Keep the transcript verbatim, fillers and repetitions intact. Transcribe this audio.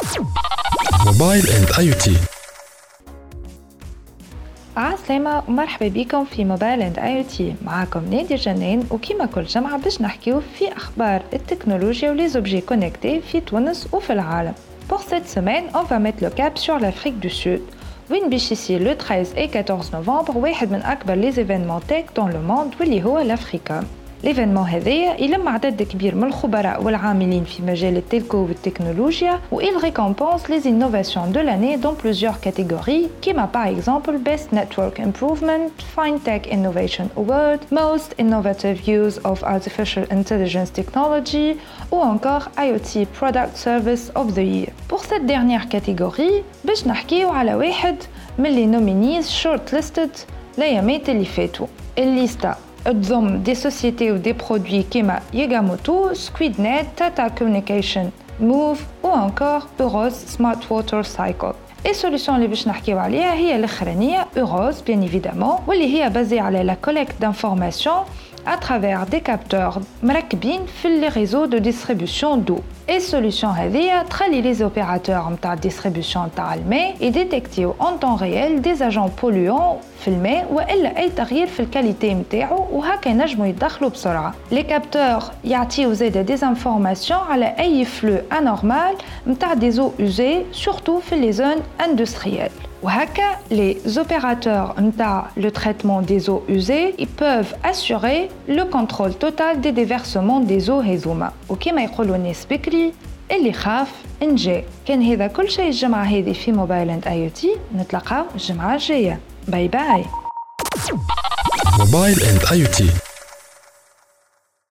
موبايل اند اي او تي. عسلامة ومرحبا بكم في موبايل اند اي او تي. معاكم نادي جنان، وكما كل جمعة باش نحكيو في اخبار التكنولوجيا ولي زوبجي كونيكتي في تونس وفي العالم. Pour cette semaine, on va mettre le cap sur l'Afrique du Sud. وين باش يصير le treize et quatorze novembre واحد من اكبر لي زيفينمون تك dans le monde واللي هو l'Africa. ليفينمون هذايا يلم عدد كبير من الخبراء والعاملين في مجال التلكو والتكنولوجيا و il récompense les innovations de l'année dans plusieurs catégories كما par exemple Best Network Improvement, FinTech Innovation Award, Most Innovative Use of Artificial Intelligence Technology ou encore I O T Product Service of the Year. Pour cette dernière catégorie باش نحكيو على واحد من les nominees shortlisted l'ayamات اللي فاتوا. الليستا تضم دي سوسيتي ودي برودوي كيما ياغاموتو، سكويدنت، تاتا كوميونيكيشن، موف و انكور اوروز سمارت ووتر سايكل. اي سوليوشن اللي باش نحكيو عليها هي الاخرانيه اوروز بيان ايفيدامون، واللي هي بازي على لا كوليكت دانفورماسيون à travers des capteurs مركبين في les réseaux de distribution d'eau. Et solution هذه تخلي les opérateurs نتاع distribution نتاع الماء يديتكتيو en temps réel des agents polluants في الماء والا اي تغيير في الكاليتي نتاعو، وهكا ينجموا يدخلوا بسرعه. les capteurs يعطيو زاده des informations على اي flux anormal نتاع des eaux usées surtout في les zones industrielles. وهكا les opérateurs نتاع le traitement des eaux usées ils peuvent assurer le contrôle total des déversements des eaux هذوما. وكما يقولوا الناس بكري اللي خاف انجا. كان هذا كل شيء الجمعة هذه في موبايل اند اي او تي. نتلاقاو الجمعة الجاية. باي باي. موبايل اند اي او تي.